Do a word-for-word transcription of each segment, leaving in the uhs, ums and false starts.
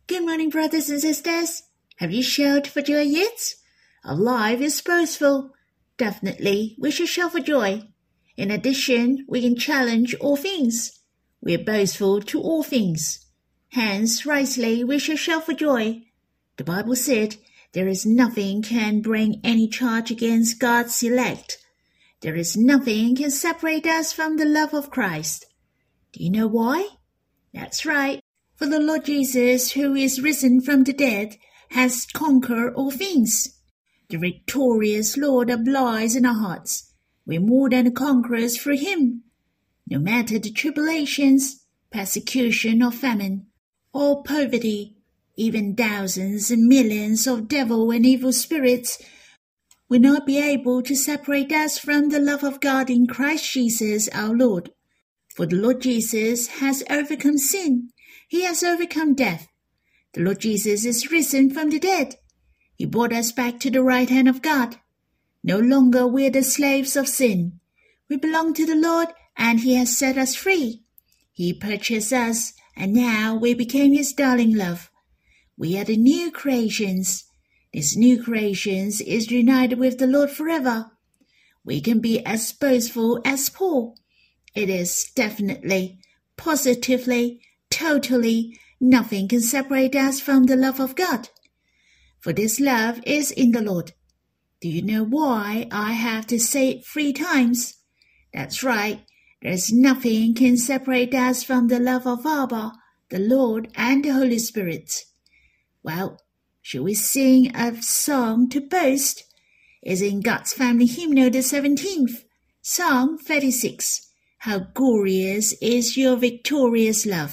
Good morning, brothers and sisters. Have you shouted for joy yet? Our life is boastful. Definitely, we should shout for joy. In addition, we can challenge all things. We are boastful to all things. Hence, rightly, we should shout for joy. The Bible said, there is nothing can bring any charge against God's elect. There is nothing can separate us from the love of Christ. Do you know why? That's right. For the Lord Jesus, who is risen from the dead, has conquered all things. The victorious Lord abides in our hearts. We're more than conquerors through him. No matter the tribulations, persecution or famine, or poverty, even thousands and millions of devil and evil spirits will not be able to separate us from the love of God in Christ Jesus our Lord. For the Lord Jesus has overcome sin. He has overcome death. The Lord Jesus is risen from the dead. He brought us back to the right hand of God. No longer we are the slaves of sin. We belong to the Lord, and he has set us free. He purchased us, and now we became his darling love. We are the new creations. This new creations is united with the Lord forever. We can be as boastful as Paul. It is definitely, positively, totally, nothing can separate us from the love of God. For this love is in the Lord. Do you know why I have to say it three times? That's right. There's nothing can separate us from the love of Abba, the Lord, and the Holy Spirit. Well, shall we sing a song to boast? It's in God's Family Hymnal, the seventeenth, Psalm thirty-six. How glorious is your victorious love.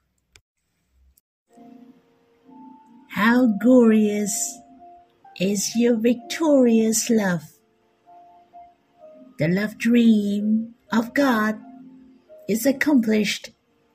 How glorious is your victorious love. The love dream of God is accomplished.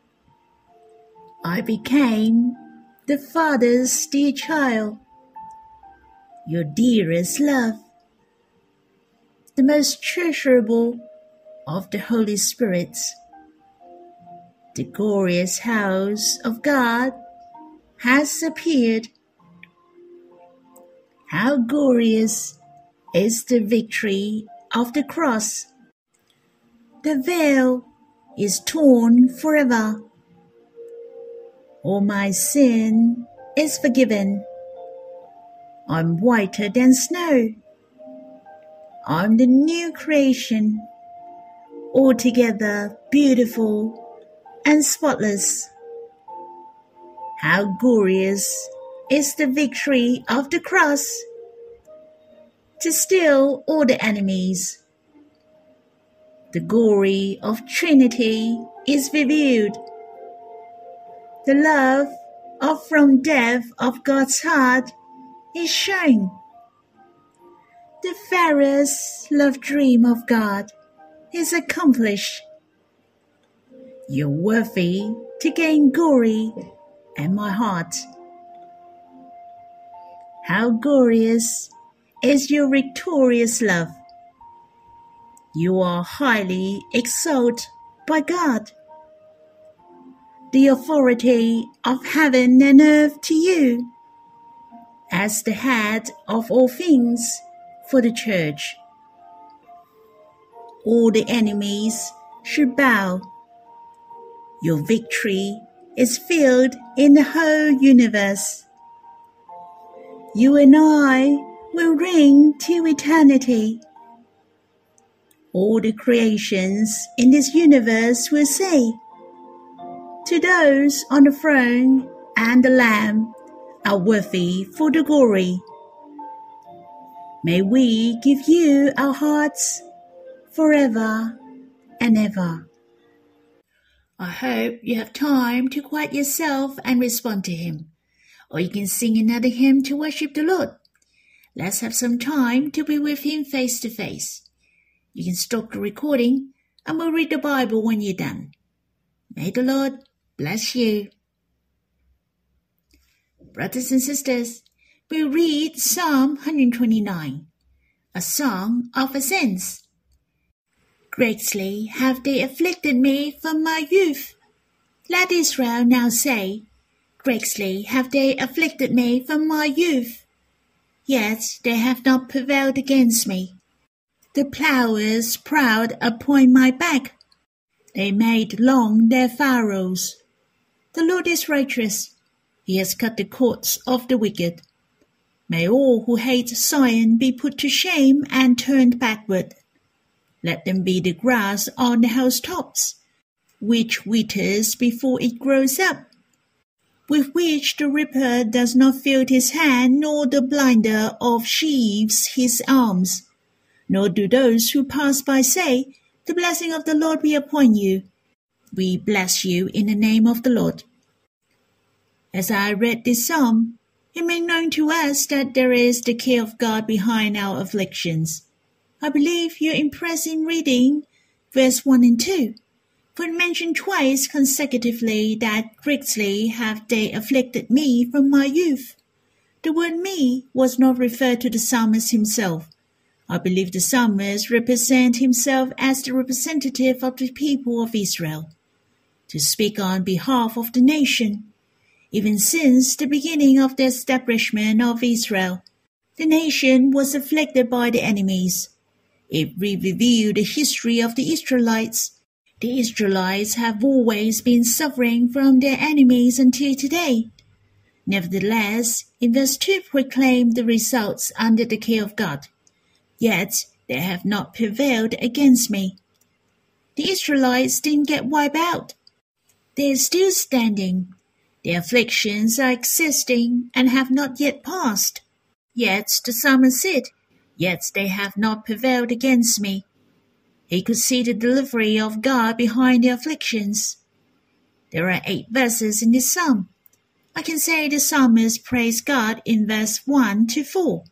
I became the Father's dear child, your dearest love, the most treasurable of the Holy Spirit. The glorious house of God has appeared. How glorious is the victory of the cross. The veil is torn forever. All my sin is forgiven. I'm whiter than snow. I'm the new creation, altogether beautiful and spotless. How glorious is the victory of the cross to still all the enemies. The glory of Trinity is revealed. The love of from depth of God's heart is shown. The fairest love dream of God is accomplished. You're worthy to gain glory and my heart. How glorious is your victorious love. You are highly exalted by God. The authority of heaven and earth to you, as the head of all things for the church. All the enemies should bow. Your victory is filled in the whole universe. You and I will reign till eternity. All the creations in this universe will say, to those on the throne and the Lamb are worthy for the glory. May we give you our hearts forever and ever. I hope you have time to quiet yourself and respond to him. Or you can sing another hymn to worship the Lord. Let's have some time to be with him face to face. You can stop the recording and we'll read the Bible when you're done. May the Lord bless you. Brothers and sisters, we'll read Psalm one twenty-nine, a song of ascents. Greatly have they afflicted me from my youth. Let Israel now say, Greatly have they afflicted me from my youth, yet they have not prevailed against me. The plowers proud upon my back. They made long their furrows. The Lord is righteous. He has cut the cords of the wicked. May all who hate Zion be put to shame and turned backward. Let them be the grass on the housetops, which withers before it grows up, with which the reaper does not fill his hand, nor the binder of sheaves his arms. Nor do those who pass by say, "The blessing of the Lord be upon you." We bless you in the name of the Lord. As I read this psalm, it made known to us that there is the care of God behind our afflictions. I believe you're impressed in reading verse one and two, for it mentioned twice consecutively that greatly have they afflicted me from my youth. The word me was not referred to the psalmist himself. I believe the psalmist represents himself as the representative of the people of Israel, to speak on behalf of the nation. Even since the beginning of the establishment of Israel, the nation was afflicted by the enemies. It revealed the history of the Israelites. The Israelites have always been suffering from their enemies until today. Nevertheless, in verse two proclaimed the results under the care of God. Yet they have not prevailed against me. The Israelites didn't get wiped out. They are still standing. Their afflictions are existing and have not yet passed. Yet the psalmist said, "Yet they have not prevailed against me." He could see the delivery of God behind the afflictions. There are eight verses in this psalm. I can say the psalmist praised God in verse one to four.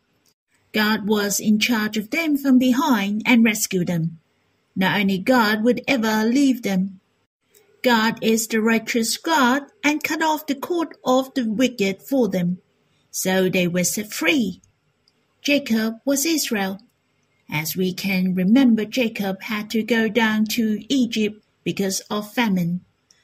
God was in charge of them from behind and rescued them. Not only God would ever leave them. God is the righteous God and cut off the cord of the wicked for them, so they were set free. Jacob was Israel. As we can remember, Jacob had to go down to Egypt because of famine.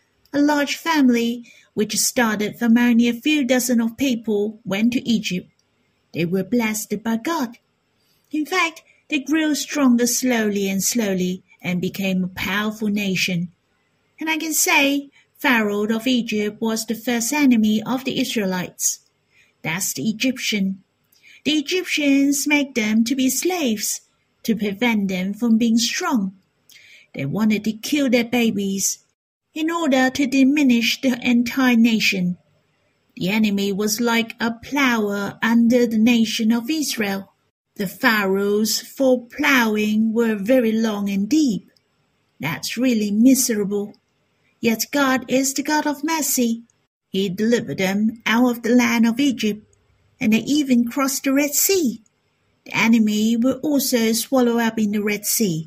A large family, which started from only a few dozen of people, went to Egypt. They were blessed by God. In fact, they grew stronger slowly and slowly and became a powerful nation. And I can say Pharaoh of Egypt was the first enemy of the Israelites. That's the Egyptian. The Egyptians made them to be slaves to prevent them from being strong. They wanted to kill their babies in order to diminish the entire nation. The enemy was like a plower under the nation of Israel. The furrows for plowing were very long and deep. That's really miserable. Yet God is the God of mercy. He delivered them out of the land of Egypt, and they even crossed the Red Sea. The enemy will also swallow up in the Red Sea.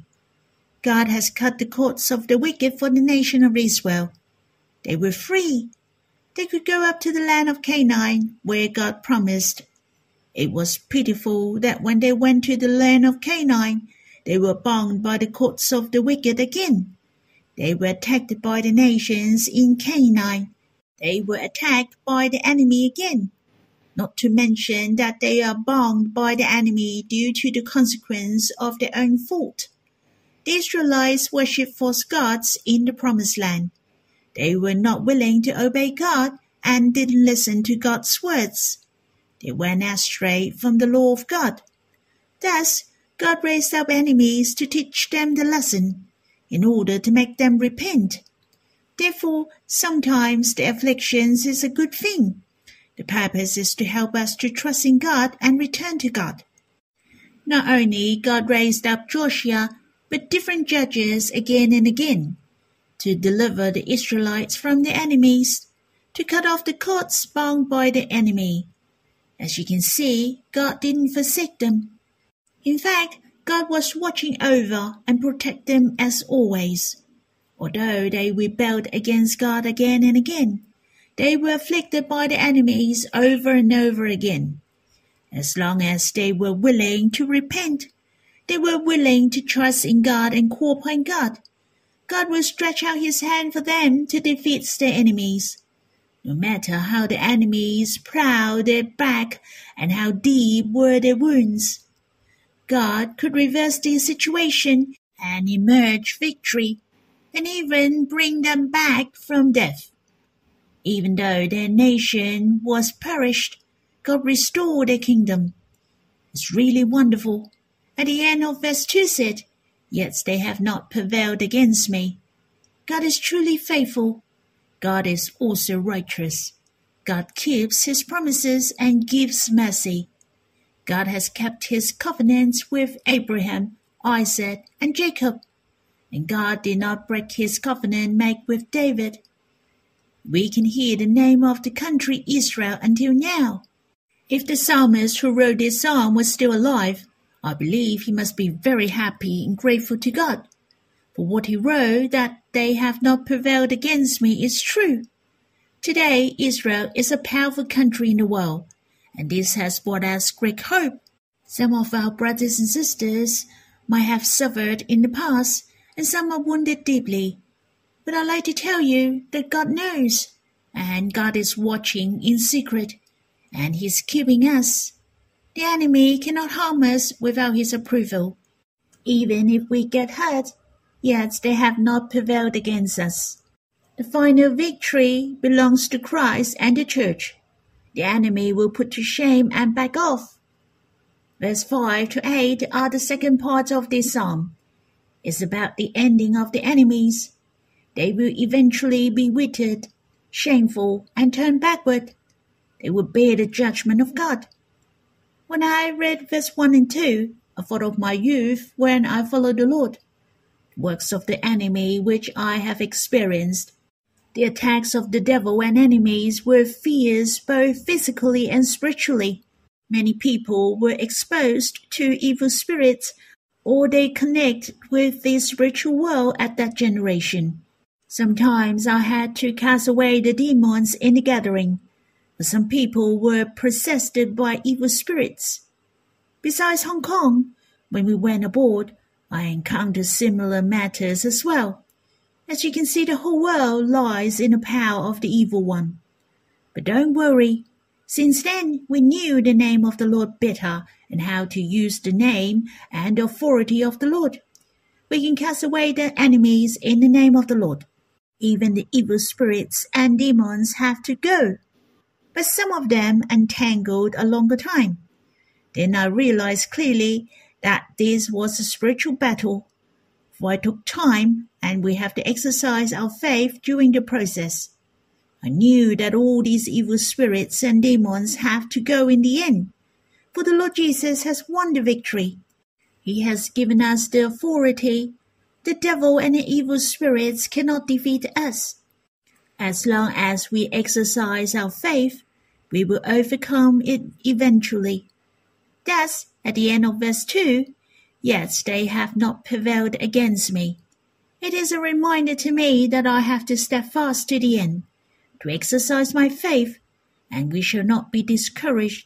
God has cut the cords of the wicked for the nation of Israel. They were free. They could go up to the land of Canaan, where God promised. It was pitiful that when they went to the land of Canaan, they were bound by the cords of the wicked again. They were attacked by the nations in Canaan. They were attacked by the enemy again. Not to mention that they are bound by the enemy due to the consequence of their own fault. The Israelites worshipped false gods in the promised land. They were not willing to obey God and didn't listen to God's words. They went astray from the law of God. Thus, God raised up enemies to teach them the lesson, in order to make them repent. Therefore, sometimes the afflictions is a good thing. The purpose is to help us to trust in God and return to God. Not only God raised up Joshua, but different judges again and again, to deliver the Israelites from their enemies, to cut off the cords bound by the enemy. As you can see, God didn't forsake them. In fact, God was watching over and protect them as always. Although they rebelled against God again and again, they were afflicted by the enemies over and over again. As long as they were willing to repent, they were willing to trust in God and call upon God, God will stretch out his hand for them to defeat their enemies. No matter how the enemies prowled their back and how deep were their wounds, God could reverse the situation and emerge victory, and even bring them back from death. Even though their nation was perished, God restored their kingdom. It's really wonderful. At the end of verse two said, "Yet they have not prevailed against me." God is truly faithful. God is also righteous. God keeps his promises and gives mercy. God has kept his covenants with Abraham, Isaac, and Jacob. And God did not break his covenant made with David. We can hear the name of the country Israel until now. If the psalmist who wrote this psalm was still alive, I believe he must be very happy and grateful to God. For what he wrote, that they have not prevailed against me, is true. Today, Israel is a powerful country in the world, and this has brought us great hope. Some of our brothers and sisters might have suffered in the past, and some are wounded deeply. But I'd like to tell you that God knows, and God is watching in secret, and he's keeping us. The enemy cannot harm us without his approval. Even if we get hurt, yet they have not prevailed against us. The final victory belongs to Christ and the church. The enemy will put to shame and back off. Verse five to eight are the second part of this psalm. It's about the ending of the enemies. They will eventually be withered, shameful, and turn backward. They will bear the judgment of God. When I read verse one and two, I thought of my youth when I followed the Lord. Works of the enemy which I have experienced. The attacks of the devil and enemies were fierce both physically and spiritually. Many people were exposed to evil spirits, or they connect with the spiritual world at that generation. Sometimes I had to cast away the demons in the gathering, but some people were possessed by evil spirits. Besides Hong Kong, when we went aboard, I encountered similar matters as well. As you can see, the whole world lies in the power of the evil one. But don't worry. Since then, we knew the name of the Lord better and how to use the name and the authority of the Lord. We can cast away the enemies in the name of the Lord. Even the evil spirits and demons have to go. But some of them entangled a longer time. Then I realized clearly that this was a spiritual battle, for it took time and we have to exercise our faith during the process. I knew that all these evil spirits and demons have to go in the end, for the Lord Jesus has won the victory. He has given us the authority. The devil and the evil spirits cannot defeat us. As long as we exercise our faith, we will overcome it eventually. Thus, at the end of verse two, "Yet they have not prevailed against me." It is a reminder to me that I have to step fast to the end, to exercise my faith, and we shall not be discouraged.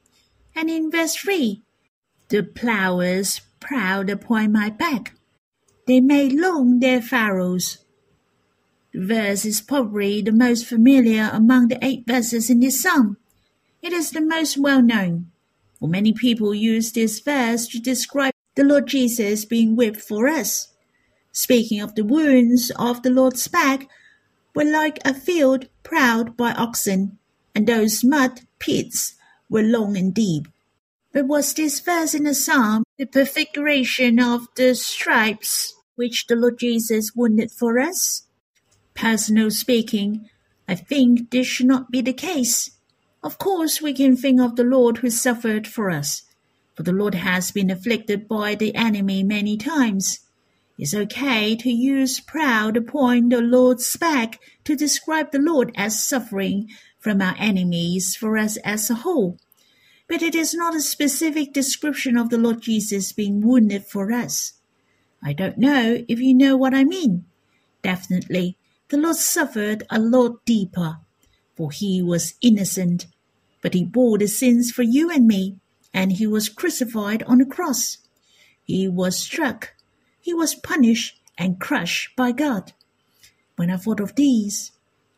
And in verse three, "The plowers prowled upon my back. They made long their furrows." The verse is probably the most familiar among the eight verses in this psalm. It is the most well-known. For many people use this verse to describe the Lord Jesus being whipped for us. Speaking of the wounds of the Lord's back were like a field plowed by oxen, and those mud pits were long and deep. But was this verse in the psalm the prefiguration of the stripes which the Lord Jesus wounded for us? Personally speaking, I think this should not be the case. Of course, we can think of the Lord who suffered for us, for the Lord has been afflicted by the enemy many times. It's okay to use proud upon the Lord's back to describe the Lord as suffering from our enemies for us as a whole. But it is not a specific description of the Lord Jesus being wounded for us. I don't know if you know what I mean. Definitely, the Lord suffered a lot deeper, for he was innocent, but he bore the sins for you and me, and he was crucified on the cross. He was struck, he was punished and crushed by God. When I thought of these,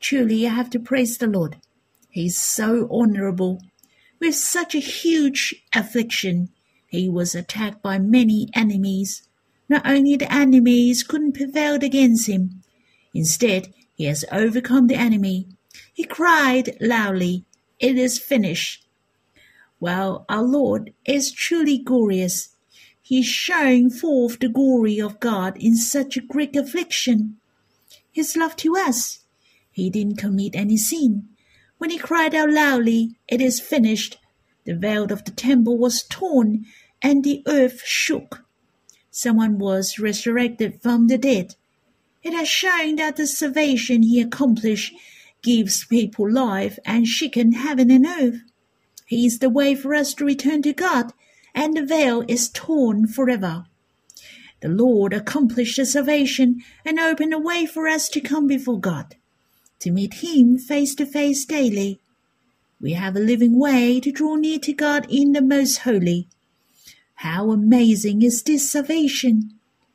Truly, I have to praise the Lord. He is so honorable. With such a huge affliction, he was attacked by many enemies. Not only the enemies couldn't prevail against him. Instead, he has overcome the enemy. He cried loudly, "It is finished." Well, our Lord is truly glorious. He is showing forth the glory of God in such a great affliction. His love to us. He didn't commit any sin. When he cried out loudly, "It is finished," the veil of the temple was torn and the earth shook. Someone was resurrected from the dead. It has shown that the salvation he accomplished gives people life and shaken heaven and earth. He is the way for us to return to God, and the veil is torn forever. The Lord accomplished the salvation and opened a way for us to come before God, to meet him face to face daily. We have a living way to draw near to God in the most holy. How amazing is this salvation!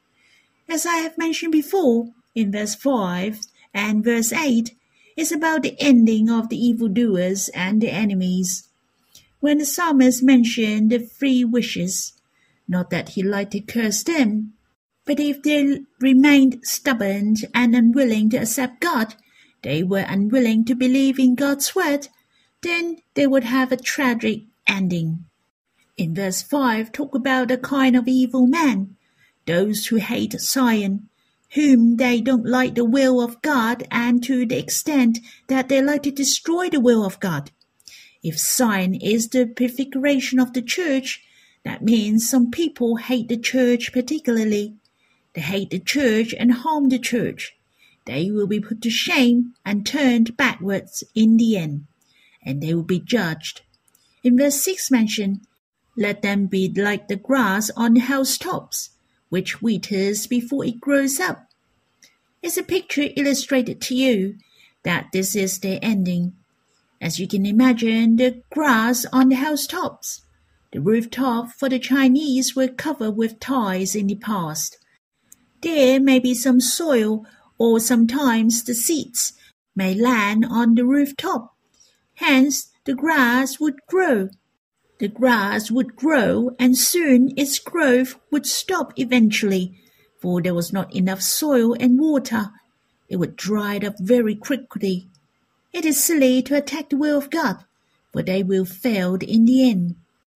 As I have mentioned before, in verse five and verse eight, is about the ending of the evildoers and the enemies. When the psalmist mentioned the three wishes, not that he liked to curse them, but if they remained stubborn and unwilling to accept God, they were unwilling to believe in God's word, then they would have a tragic ending. In verse five, talk about a kind of evil man, those who hate Zion, whom they don't like the will of God, and to the extent that they like to destroy the will of God. If Zion is the prefiguration of the church, that means some people hate the church particularly. They hate the church and harm the church. They will be put to shame and turned backwards in the end, and they will be judged. In verse six mentioned, "Let them be like the grass on the housetops, which withers before it grows up." It's a picture illustrated to you that this is their ending. As you can imagine, the grass on the housetops. The rooftop for the Chinese were covered with tiles in the past. There may be some soil, or sometimes the seeds may land on the rooftop. Hence, the grass would grow. The grass would grow, and soon its growth would stop eventually, for there was not enough soil and water. It would dry up very quickly. It is silly to attack the will of God, for they will fail in the end.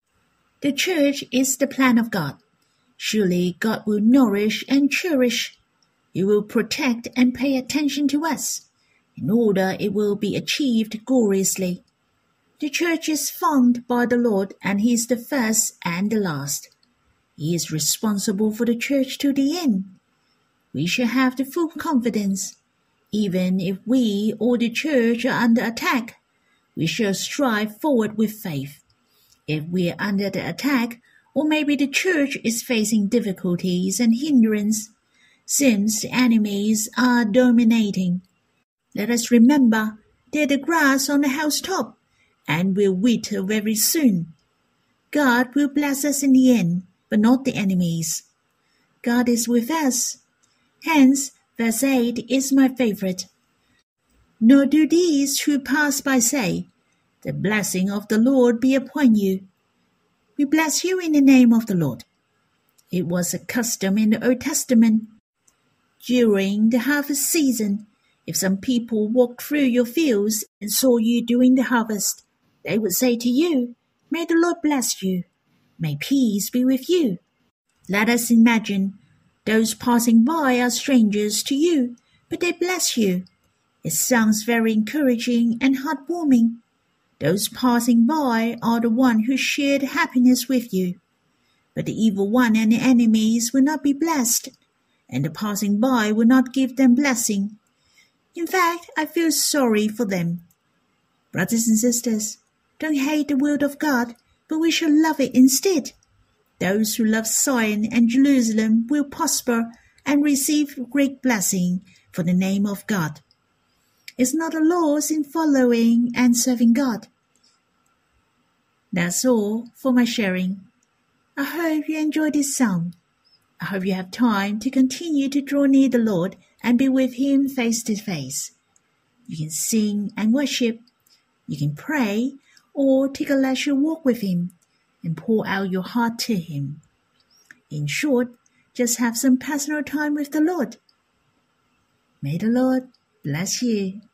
The church is the plan of God. Surely God will nourish and cherish. He will protect and pay attention to us, in order it will be achieved gloriously. The church is formed by the Lord, and he is the first and the last. He is responsible for the church to the end. We shall have the full confidence. Even if we or the church are under attack, we shall strive forward with faith. If we are under the attack, or maybe the church is facing difficulties and hindrance, since the enemies are dominating, let us remember they're the grass on the housetop, and will wither very soon. God will bless us in the end, but not the enemies. God is with us. Hence, verse eight is my favorite. Nor do these who pass by say, "The blessing of the Lord be upon you." We bless you in the name of the Lord. It was a custom in the Old Testament. During the harvest season, if some people walked through your fields and saw you doing the harvest, they would say to you, "May the Lord bless you. May peace be with you." Let us imagine those passing by are strangers to you, but they bless you. It sounds very encouraging and heartwarming. Those passing by are the one who shared happiness with you. But the evil one and the enemies will not be blessed, and the passing by will not give them blessing. In fact, I feel sorry for them. Brothers and sisters, don't hate the word of God, but we shall love it instead. Those who love Zion and Jerusalem will prosper and receive great blessing for the name of God. It's not a loss in following and serving God. That's all for my sharing. I hope you enjoyed this psalm. I hope you have time to continue to draw near the Lord and be with him face to face. You can sing and worship. You can pray or take a leisure walk with Him and pour out your heart to Him. In short, just have some personal time with the Lord. May the Lord bless you.